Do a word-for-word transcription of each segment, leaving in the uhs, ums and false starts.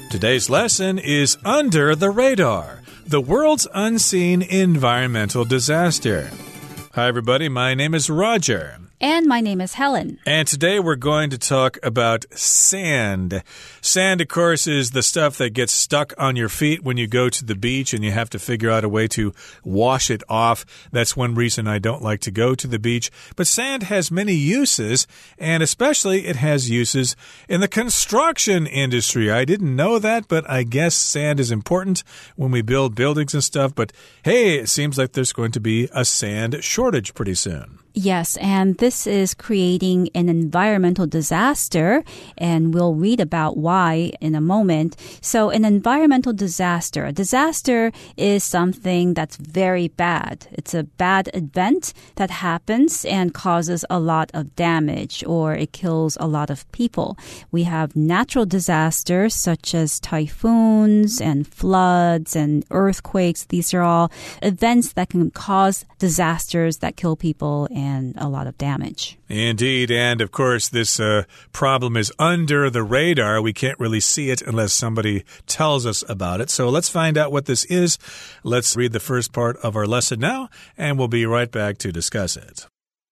Today's lesson is Under the Radar, the world's unseen environmental disaster. Hi, everybody. My name is Roger. And my name is Helen. And today we're going to talk about sand. Sand, of course, is the stuff that gets stuck on your feet when you go to the beach and you have to figure out a way to wash it off. That's one reason I don't like to go to the beach. But sand has many uses, and especially it has uses in the construction industry. I didn't know that, but I guess sand is important when we build buildings and stuff. But hey, it seems like there's going to be a sand shortage pretty soon. Yes, and this is creating an environmental disaster, and we'll read about why in a moment. So an environmental disaster, a disaster is something that's very bad. It's a bad event that happens and causes a lot of damage, or it kills a lot of people. We have natural disasters such as typhoons and floods and earthquakes. These are all events that can cause disasters that kill people and a lot of damage. Indeed. And of course, this uh, problem is under the radar. We can't really see it unless somebody tells us about it. So let's find out what this is. Let's read the first part of our lesson now, and we'll be right back to discuss it.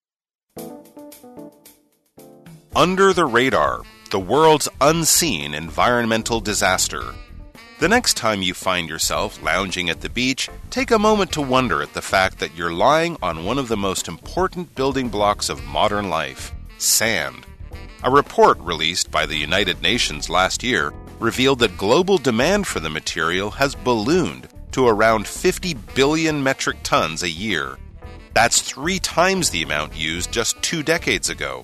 Under the radar, the world's unseen environmental disaster. The next time you find yourself lounging at the beach, take a moment to wonder at the fact that you're lying on one of the most important building blocks of modern life, sand. A report released by the United Nations last year revealed that global demand for the material has ballooned to around fifty billion metric tons a year. That's three times the amount used just two decades ago.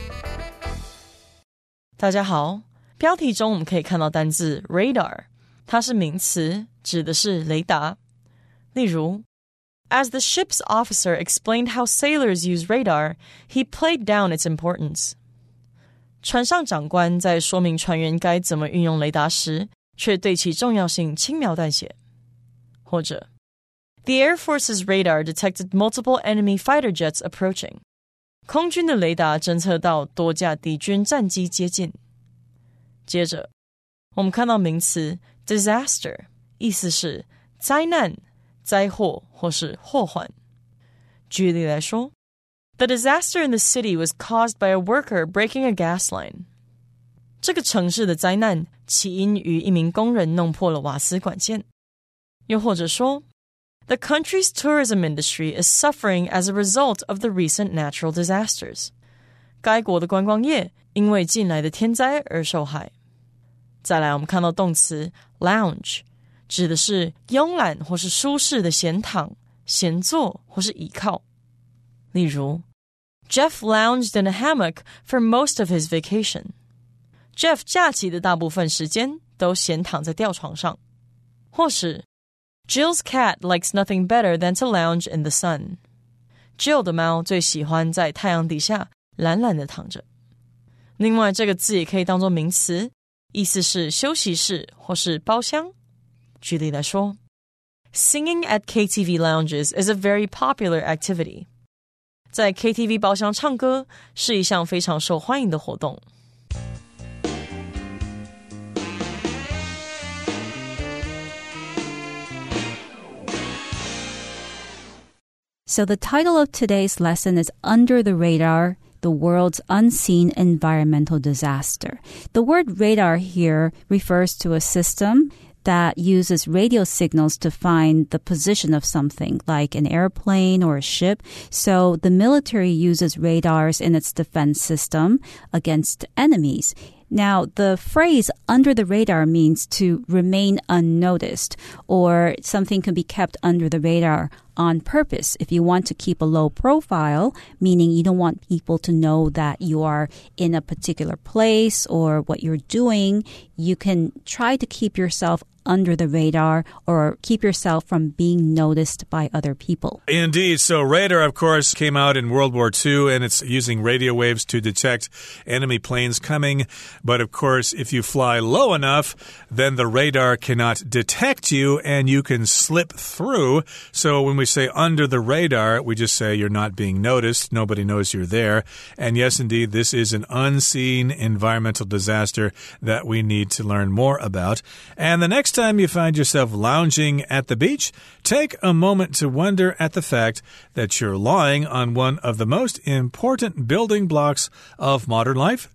大家好，标题中我们可以看到单字 radar。它是名詞，指的是雷達。例如 As the ship's officer explained how sailors use radar, he played down its importance. 船上長官在說明船員該怎麼運用雷達時，卻對其重要性輕描淡寫。或者 The Air Force's radar detected multiple enemy fighter jets approaching. 空軍的雷達偵測到多架敵軍戰機接近。接着我們看到名詞disaster 意思是災難、災禍或是禍患。舉例來說 The disaster in the city was caused by a worker breaking a gas line. 這個城市的災難起因於一名工人弄破了瓦斯管線。又或者說 The country's tourism industry is suffering as a result of the recent natural disasters. 該國的觀光業因為近來的天災而受害。再來我們看到動詞 lounge 指的是慵懶或是舒適的閒躺、閒坐或是倚靠。例如 Jeff lounged in a hammock for most of his vacation. Jeff 假期的大部分時間都閒躺在吊床上。或是 Jill's cat likes nothing better than to lounge in the sun. Jill 的貓最喜歡在太陽底下懶懶的躺着。另外這個字也可以當作名詞，意思是休息室或是包廂。舉例來說 Singing at K T V lounges is a very popular activity. 在 K T V 包廂唱歌是一項非常受歡迎的活動。 So the title of today's lesson is Under the Radar, the world's unseen environmental disaster. The word radar here refers to a system that uses radio signals to find the position of something, like an airplane or a ship. So the military uses radars in its defense system against enemies. Now, the phrase under the radar means to remain unnoticed, or something can be kept under the radar on purpose. If you want to keep a low profile, meaning you don't want people to know that you are in a particular place or what you're doing, you can try to keep yourself under the radar or keep yourself from being noticed by other people. Indeed. So radar, of course, came out in World War Two, and it's using radio waves to detect enemy planes coming. But of course, if you fly low enough, then the radar cannot detect you and you can slip through. So when we we say under the radar, we just say you're not being noticed. Nobody knows you're there. And yes, indeed, this is an unseen environmental disaster that we need to learn more about. And the next time you find yourself lounging at the beach, take a moment to wonder at the fact that you're lying on one of the most important building blocks of modern life,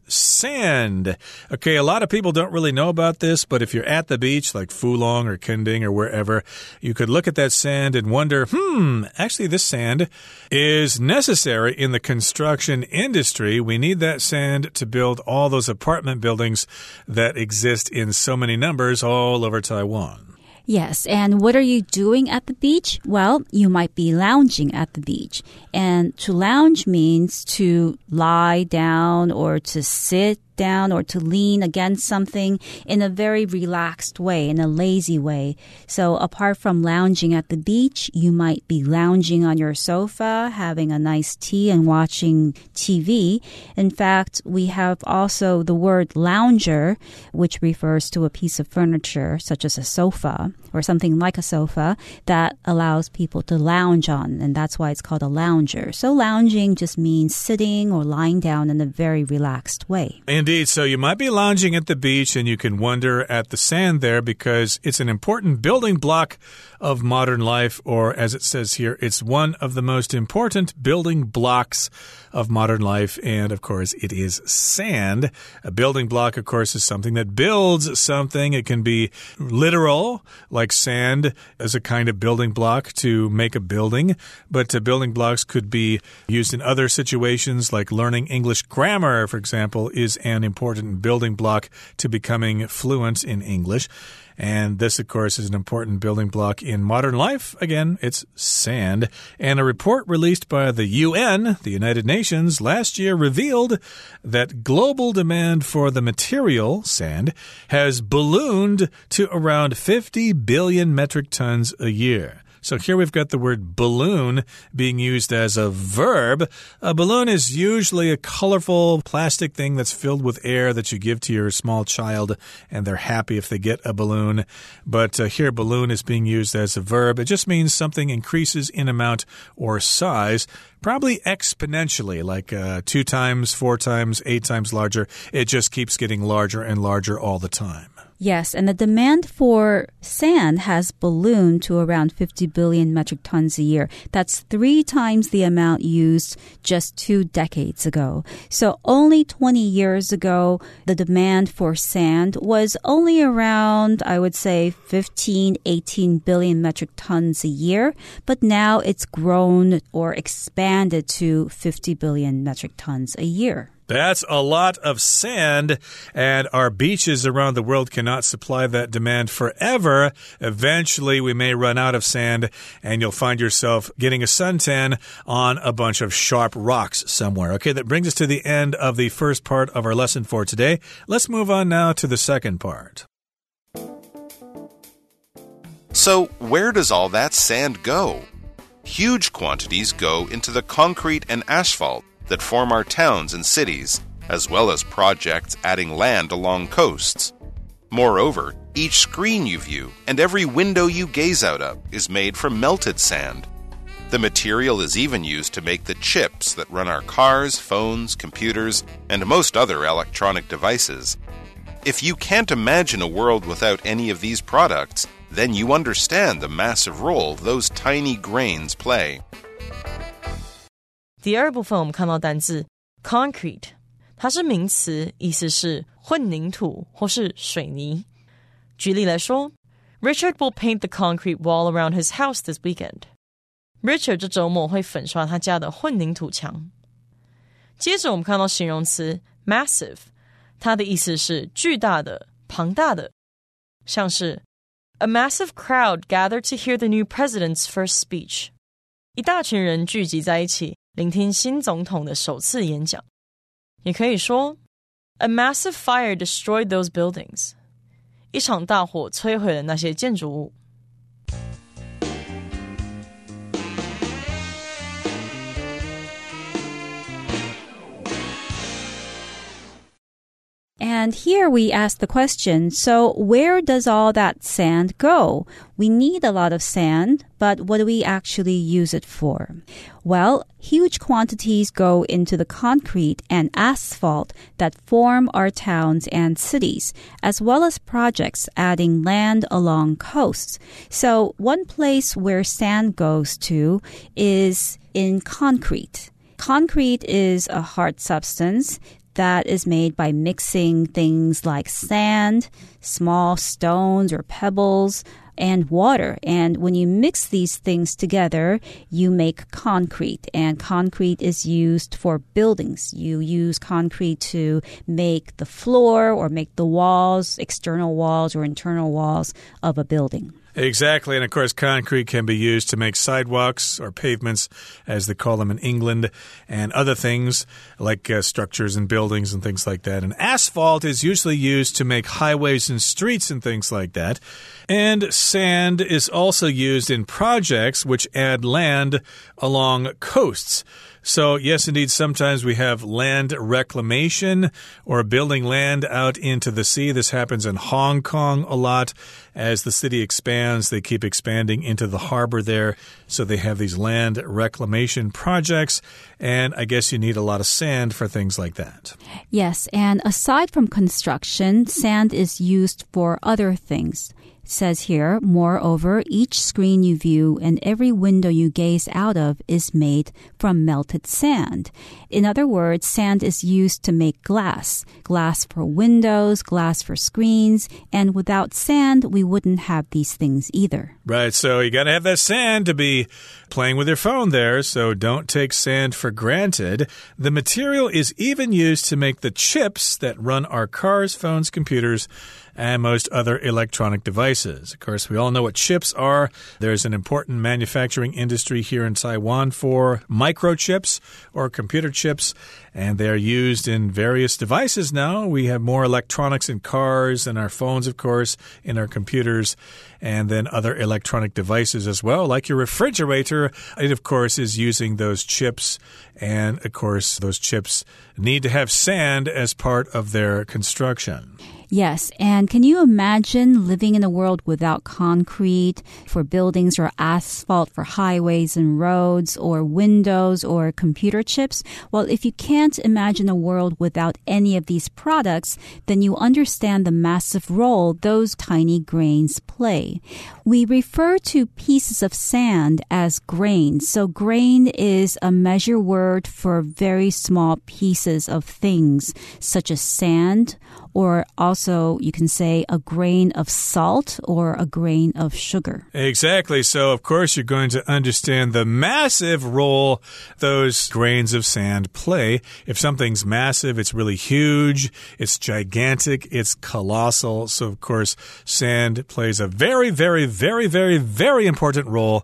sand. Okay, a lot of people don't really know about this, but if you're at the beach, like Fulong or Kending or wherever, you could look at that sand and wonder, hmm, actually this sand is necessary in the construction industry. We need that sand to build all those apartment buildings that exist in so many numbers all over Taiwan. Yes, and what are you doing at the beach? Well, you might be lounging at the beach. And to lounge means to lie down or to sit down or to lean against something in a very relaxed way, in a lazy way. So apart from lounging at the beach, you might be lounging on your sofa, having a nice tea and watching T V. In fact, we have also the word lounger, which refers to a piece of furniture, such as a sofa or something like a sofa that allows people to lounge on, and that's why it's called a lounger. So lounging just means sitting or lying down in a very relaxed way. Indeed, so you might be lounging at the beach and you can wonder at the sand there because it's an important building block of modern life, or as it says here, it's one of the most important building blocks of modern life, and of course it is sand. A building block, of course, is something that builds something. It can be literal, like sand as a kind of building block to make a building, but uh, building blocks could be used in other situations, like learning English grammar, for example, is an important building block to becoming fluent in English. And this, of course, is an important building block in modern life. Again, it's sand. And a report released by the U N, the United Nations, last year revealed that global demand for the material, sand, has ballooned to around fifty billion metric tons a year. So here we've got the word balloon being used as a verb. A balloon is usually a colorful plastic thing that's filled with air that you give to your small child, and they're happy if they get a balloon. But uh, here balloon is being used as a verb. It just means something increases in amount or size, probably exponentially, like uh, two times, four times, eight times larger. It just keeps getting larger and larger all the time. Yes, and the demand for sand has ballooned to around fifty billion metric tons a year. That's three times the amount used just two decades ago. So only twenty years ago, the demand for sand was only around, I would say, fifteen, eighteen billion metric tons a year. But now it's grown or expanded to fifty billion metric tons a year. That's a lot of sand, and our beaches around the world cannot supply that demand forever. Eventually, we may run out of sand, and you'll find yourself getting a suntan on a bunch of sharp rocks somewhere. Okay, that brings us to the end of the first part of our lesson for today. Let's move on now to the second part. So, where does all that sand go? Huge quantities go into the concrete and asphalt that form our towns and cities, as well as projects adding land along coasts. Moreover, each screen you view and every window you gaze out of is made from melted sand. The material is even used to make the chips that run our cars, phones, computers, and most other electronic devices. If you can't imagine a world without any of these products, then you understand the massive role those tiny grains play. 第二部分我们看到单字 concrete， 它是名詞，意思是混凝土或是水泥。舉例來說 Richard will paint the concrete wall around his house this weekend. Richard 這週末會粉刷他家的混凝土牆。接着我們看到形容詞 massive， 它的意思是巨大的、龐大的，像是 A massive crowd gathered to hear the new president's first speech. 一大群人聚集在一起聆聽新總統的首次演講。也可以說 A massive fire destroyed those buildings. 一場大火摧毀了那些建築物。 And here we ask the question, so where does all that sand go? We need a lot of sand, but what do we actually use it for? Well, huge quantities go into the concrete and asphalt that form our towns and cities, as well as projects adding land along coasts. So one place where sand goes to is in concrete. Concrete is a hard substance that is made by mixing things like sand, small stones or pebbles, and water. And when you mix these things together, you make concrete. And concrete is used for buildings. You use concrete to make the floor or make the walls, external walls or internal walls of a building. Exactly. And of course, concrete can be used to make sidewalks or pavements, as they call them in England, and other things like uh, structures and buildings and things like that. And asphalt is usually used to make highways and streets and things like that. And sand is also used in projects which add land along coasts. So, yes, indeed, sometimes we have land reclamation or building land out into the sea. This happens in Hong Kong a lot. As the city expands, they keep expanding into the harbor there. So they have these land reclamation projects. And I guess you need a lot of sand for things like that. Yes, and aside from construction, sand is used for other things. It says here, moreover, each screen you view and every window you gaze out of is made from melted sand. In other words, sand is used to make glass. Glass for windows, glass for screens, and without sand, we wouldn't have these things either. Right, so you got to have that sand to be playing with your phone there, so don't take sand for granted. The material is even used to make the chips that run our cars, phones, computers, and most other electronic devices. Of course, we all know what chips are. There's an important manufacturing industry here in Taiwan for microchips or computer chips, and they're used in various devices now. We have more electronics in cars and our phones, of course, in our computers, and then other electronic devices as well, like your refrigerator. It, of course, is using those chips, and, of course, those chips need to have sand as part of their construction. Yes, and can you imagine living in a world without concrete for buildings or asphalt for highways and roads or windows or computer chips? Well, if you can't imagine a world without any of these products, then you understand the massive role those tiny grains play. We refer to pieces of sand as grains. So grain is a measure word for very small pieces of things, such as sand, or also you can say a grain of salt or a grain of sugar. Exactly. So, of course, you're going to understand the massive role those grains of sand play. If something's massive, it's really huge, it's gigantic, it's colossal. So, of course, sand plays a very, very, very, very, very important role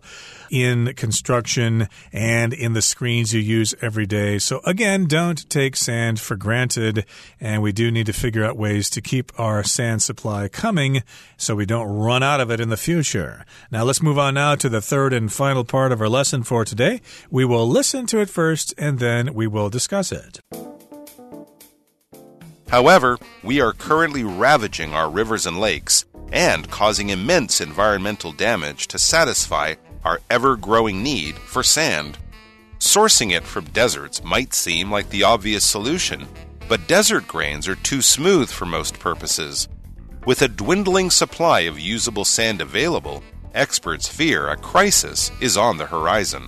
in construction and in the screens you use every day. So again, don't take sand for granted, and we do need to figure out ways to keep our sand supply coming so we don't run out of it in the future. Now let's move on now to the third and final part of our lesson for today. We will listen to it first and then we will discuss it. However, we are currently ravaging our rivers and lakes and causing immense environmental damage to satisfy our ever-growing need for sand. Sourcing it from deserts might seem like the obvious solution, but desert grains are too smooth for most purposes. With a dwindling supply of usable sand available, experts fear a crisis is on the horizon.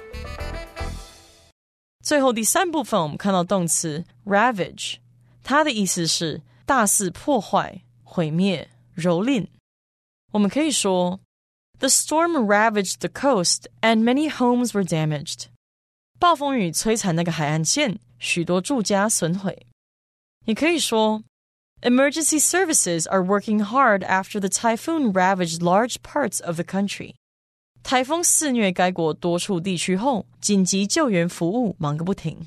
最後第三部分我们看到动詞 ravage， 它的意思是大肆破壞、毀滅、蹂躪。我們可以說The storm ravaged the coast, and many homes were damaged. 暴風雨摧殘那個海岸線，許多住家損毀。你可以說 Emergency services are working hard after the typhoon ravaged large parts of the country. 颱風肆虐該國多處地區後，緊急救援服務忙個不停。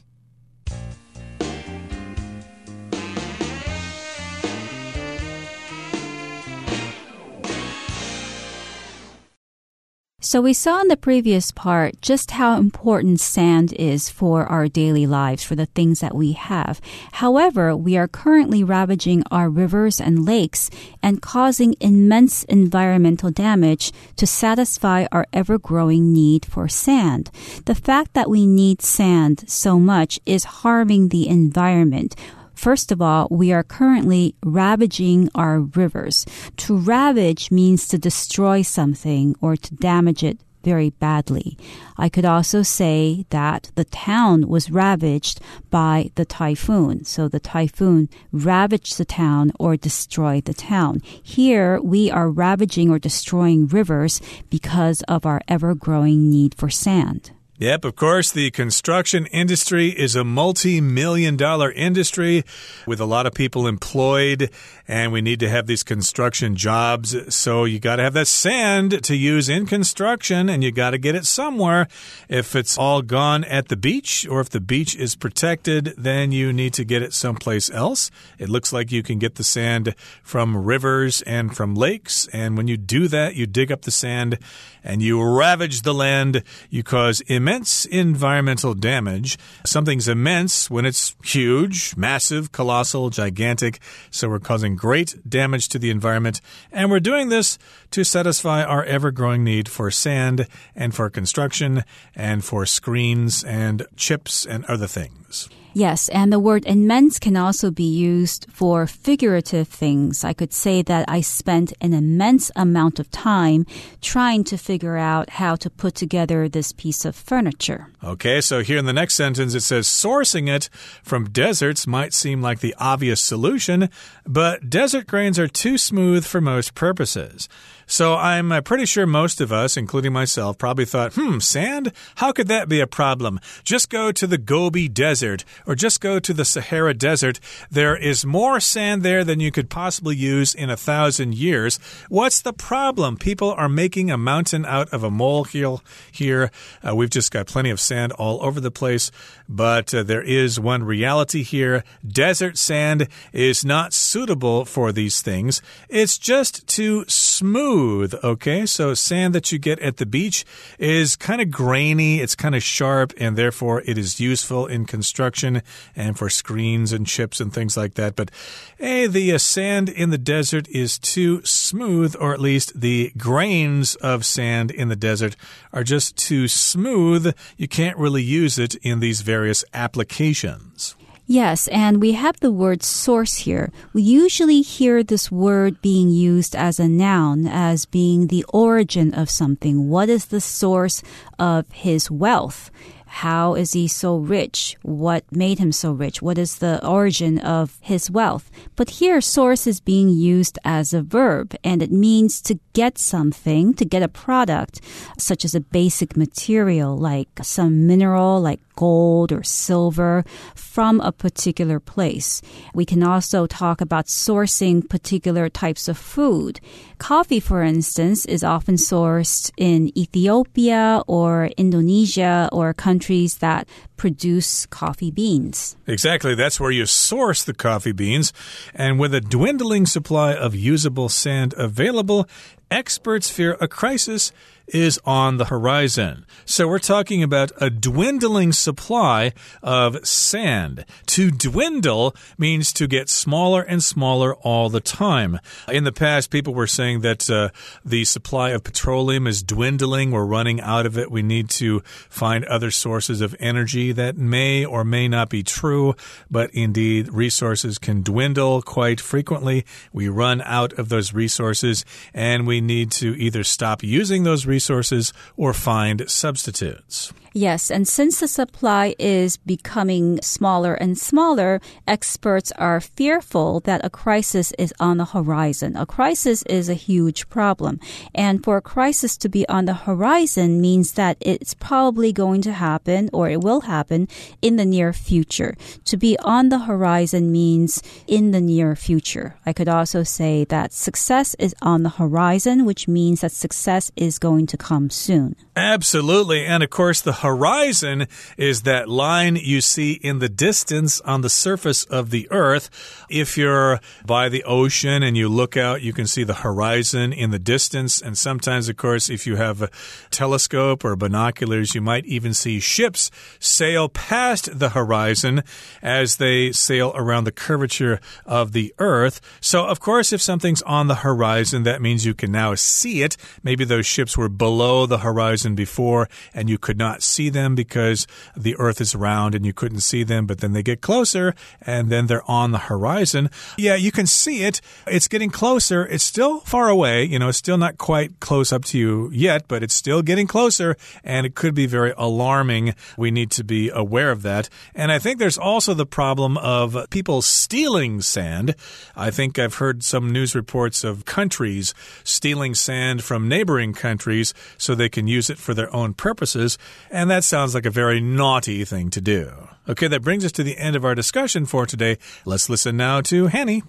So we saw in the previous part just how important sand is for our daily lives, for the things that we have. However, we are currently ravaging our rivers and lakes and causing immense environmental damage to satisfy our ever-growing need for sand. The fact that we need sand so much is harming the environment. First of all, we are currently ravaging our rivers. To ravage means to destroy something or to damage it very badly. I could also say that the town was ravaged by the typhoon. So the typhoon ravaged the town or destroyed the town. Here, we are ravaging or destroying rivers because of our ever-growing need for sand. Yep, of course, the construction industry is a multi-million dollar industry with a lot of people employed, and we need to have these construction jobs. So you got to have that sand to use in construction, and you got to get it somewhere. If it's all gone at the beach, or if the beach is protected, then you need to get it someplace else. It looks like you can get the sand from rivers and from lakes, and when you do that, you dig up the sand and you ravage the land. You cause immense environmental damage. Something's immense when it's huge, massive, colossal, gigantic. So we're causing great damage to the environment. And we're doing this to satisfy our ever-growing need for sand and for construction and for screens and chips and other things. Yes, and the word immense can also be used for figurative things. I could say that I spent an immense amount of time trying to figure out how to put together this piece of furniture. Okay, so here in the next sentence it says, sourcing it from deserts might seem like the obvious solution, but desert grains are too smooth for most purposes. So I'm uh, pretty sure most of us, including myself, probably thought, hmm, sand? How could that be a problem? Just go to the Gobi Desert or just go to the Sahara Desert. There is more sand there than you could possibly use in a thousand years. What's the problem? People are making a mountain out of a molehill here. Uh, we've just got plenty of sand all over the place, but uh, there is one reality here. Desert sand is not suitable for these things. It's just too smooth. Okay, so sand that you get at the beach is kind of grainy, it's kind of sharp, and therefore it is useful in construction and for screens and chips and things like that. But hey, the uh, sand in the desert is too smooth, or at least the grains of sand in the desert are just too smooth. You can't really use it in these various applications. Yes, and we have the word source here. We usually hear this word being used as a noun, as being the origin of something. What is the source of his wealth? How is he so rich? What made him so rich? What is the origin of his wealth? But here, source is being used as a verb, and it means to get something, to get a product, such as a basic material, like some mineral, like gold or silver, from a particular place. We can also talk about sourcing particular types of food. Coffee, for instance, is often sourced in Ethiopia or Indonesia or countries that produce coffee beans. Exactly. That's where you source the coffee beans. And with a dwindling supply of usable sand available, experts fear a crisis is on the horizon. So we're talking about a dwindling supply of sand. To dwindle means to get smaller and smaller all the time. In the past, people were saying that uh, the supply of petroleum is dwindling. We're running out of it. We need to find other sources of energy. That may or may not be true, but indeed, resources can dwindle quite frequently. We run out of those resources, and we need to either stop using those resources or find substitutes. Yes, and since the supply is becoming smaller and smaller, experts are fearful that a crisis is on the horizon. A crisis is a huge problem. And for a crisis to be on the horizon means that it's probably going to happen, or it will happen, in the near future. To be on the horizon means in the near future. I could also say that success is on the horizon. horizon, which means that success is going to come soon. Absolutely. And of course, the horizon is that line you see in the distance on the surface of the earth. If you're by the ocean and you look out, you can see the horizon in the distance. And sometimes, of course, if you have a telescope or binoculars, you might even see ships sail past the horizon as they sail around the curvature of the earth. So, of course, if something's on the horizon, that means you can now see it. Maybe those ships were below the horizon before and you could not see them because the earth is round and you couldn't see them, but then they get closer and then they're on the horizon. Yeah, you can see it. It's getting closer. It's still far away. You know, it's still not quite close up to you yet, but it's still getting closer and it could be very alarming. We need to be aware of that. And I think there's also the problem of people stealing sand. I think I've heard some news reports of countries stealing sand from neighboring countries so they can use it for their own purposes, and that sounds like a very naughty thing to do. Okay, that brings us to the end of our discussion for today. Let's listen now to Hanny.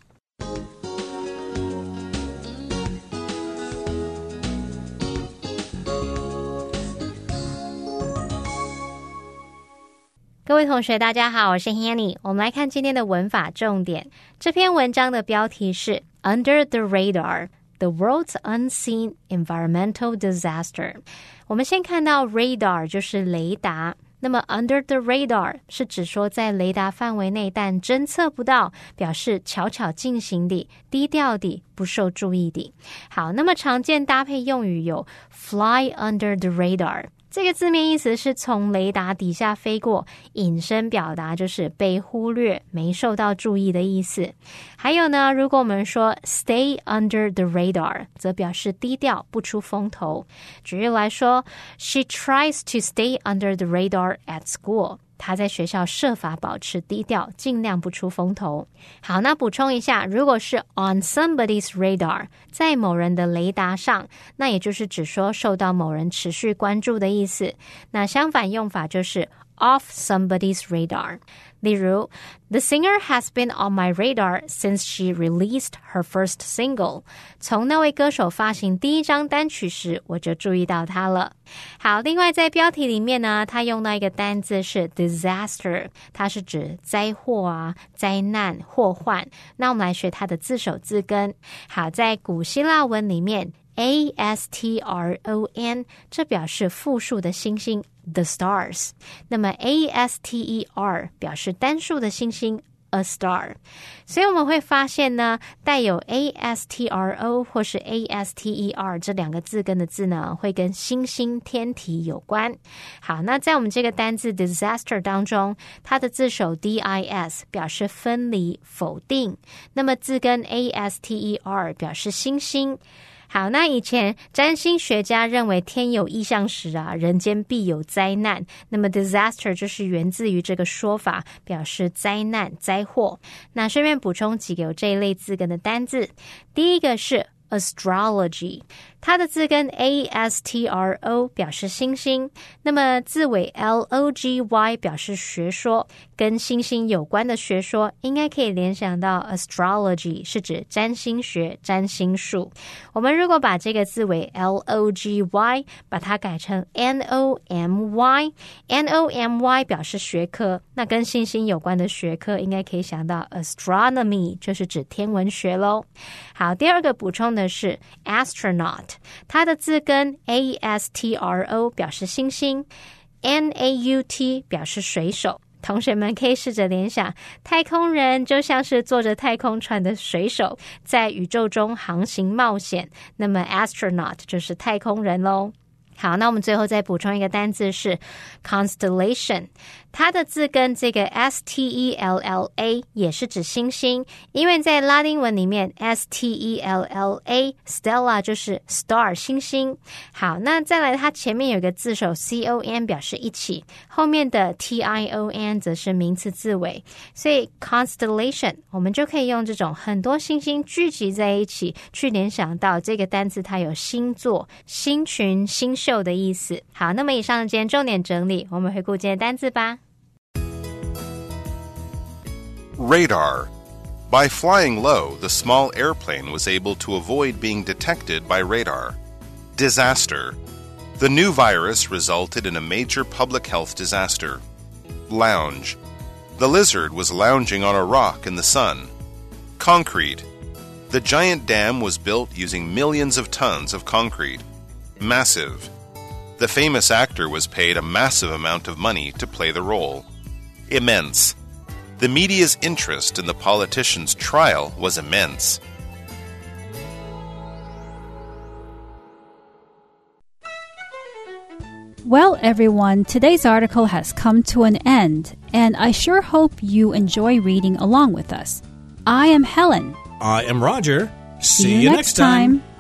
各位同学大家好，我是 Hanny。 我们来看今天的文法重点。这篇文章的标題是 Under the Radar, the world's unseen environmental disaster。 我們先看到 radar 就是雷達，那麼 under the radar 是指說在雷達範圍內但偵測不到，表示悄悄進行的，低調的，不受注意的。好，那麼常見搭配用語有 fly under the radar，這個字面意思是從雷達底下飛過，引申表達就是被忽略，沒受到注意的意思。還有呢，如果我們說 stay under the radar， 則表示低調，不出風頭。舉例來說 She tries to stay under the radar at school。他在學校設法保持低調，盡量不出風頭。好，那補充一下，如果是 on somebody's radar， 在某人的雷達上，那也就是指說受到某人持續關注的意思。那相反用法就是 off somebody's radar。例如 The singer has been on my radar since she released her first single。 從那位歌手發行第一張單曲時，我就注意到他了。好，另外在標題裡面呢，他用到一個單字是 disaster， 它是指災禍啊、災難、禍患。那我們來學它的字首字根。好，在古希臘文裡面A S T R O N 這表示複數的星星 The stars， 那麼 A S T E R 表示單數的星星 A star。 所以我們會發現呢，帶有 A S T R O 或是 A S T E R 這兩個字根的字呢，會跟星星天體有關。好，那在我們這個單字 disaster 當中，它的字首 D I S 表示分離否定，那麼字根 A S T E R 表示星星。好，那以前占星學家認為天有異象時啊，人間必有災難，那麼 disaster 就是源自於這個說法，表示災難、災禍。那順便補充幾個有這一類字根的單字，第一個是astrology， 它的字根 A S T R O 表示星星，那麼字尾 L O G Y 表示學說，跟星星有關的學說應該可以聯想到 astrology 是指占星學、占星術。我們如果把這個字尾 L O G Y 把它改成 N O M Y， N O M Y 表示學科，那跟星星有關的學科應該可以想到 astronomy 就是指天文學咯。好，第二個補充的是 astronaut， 它的字根 A S T R O 表示星星， N A U T 表示水手。同學們可以試着聯想，太空人就像是坐着太空船的水手，在宇宙中航行冒險，那麼 astronaut 就是太空人咯。好，那我們最後再補充一個單字是 constellation， 它的字根這個 S T E L L A 也是指星星，因為在拉丁文裡面 S T E L L A Stella 就是 star 星星。好，那再來它前面有一個字首 C O N 表示一起，後面的 T I O N 則是名詞字尾，所以 constellation 我們就可以用這種很多星星聚集在一起去聯想到這個單字它有星座、星群、星秀的意思。好，那麼以上今天重點整理，我們回顧今天的單字吧。 Radar. By flying low, the small airplane was able to avoid being detected by radar. Disaster. The new virus resulted in a major public health disaster. Lounge. The lizard was lounging on a rock in the sun. Concrete. The giant dam was built using millions of tons of concrete. Massive. The famous actor was paid a massive amount of money to play the role. Immense. The media's interest in the politician's trial was immense. Well, everyone, today's article has come to an end, and I sure hope you enjoy reading along with us. I am Helen. I am Roger. See, See you, you next next time. time.